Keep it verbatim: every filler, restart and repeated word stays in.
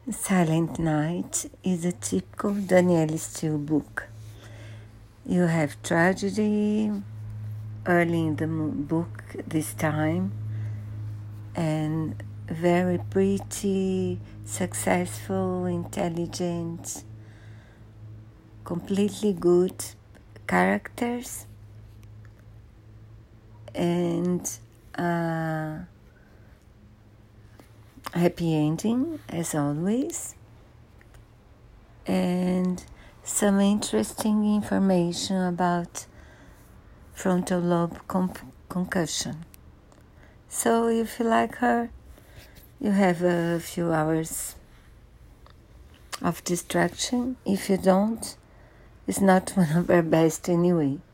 Silent Night is a typical Danielle Steele book. You have tragedy early in the book this time, and very pretty, successful, intelligent, completely good characters, and uh, happy ending as always, and some interesting information about frontal lobe comp- concussion. So if you like her, you have a few hours of distraction. If you don't, it's not one of her best anyway.